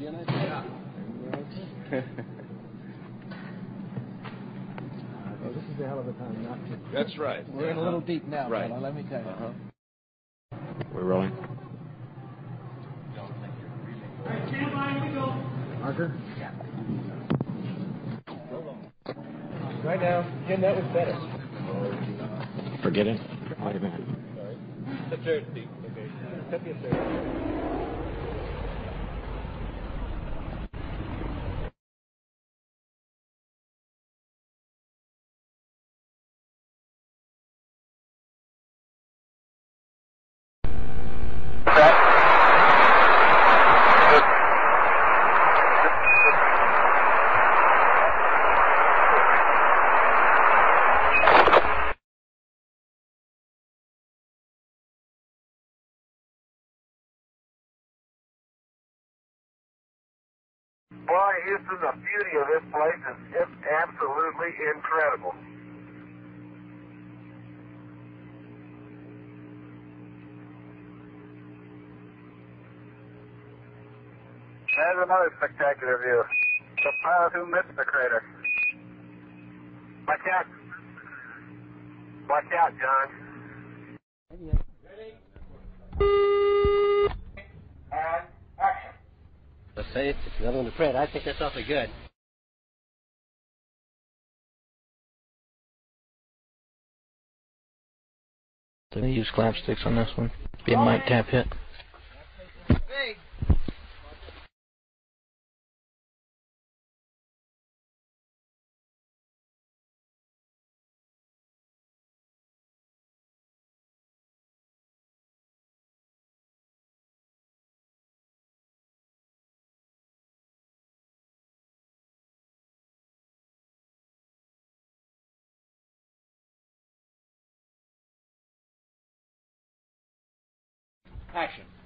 Yeah. Well, this is a hell of a time not to. That's right. We're in a little deep now, right. fella, let me tell you. We're rolling. Marker? Right now, Jim, that was better. Forget it. Wait a minute. The third, Steve. Okay. Cut me a third. Boy, Houston, the beauty of this place is just absolutely incredible. There's another spectacular view. The pilot who missed the crater. Watch out. Watch out, John. Ready? And action. Let's say it's another one to Fred. I think that's awfully good. Did they use slapsticks on this one? Be a mic tap hit. Big. Action.